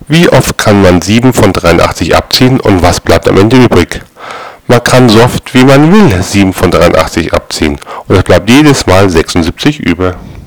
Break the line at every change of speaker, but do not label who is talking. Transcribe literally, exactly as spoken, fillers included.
Wie oft kann man sieben von dreiundachtzig abziehen und was bleibt am Ende übrig? Man kann so oft wie man will sieben von dreiundachtzig abziehen und es bleibt jedes Mal sechsundsiebzig über.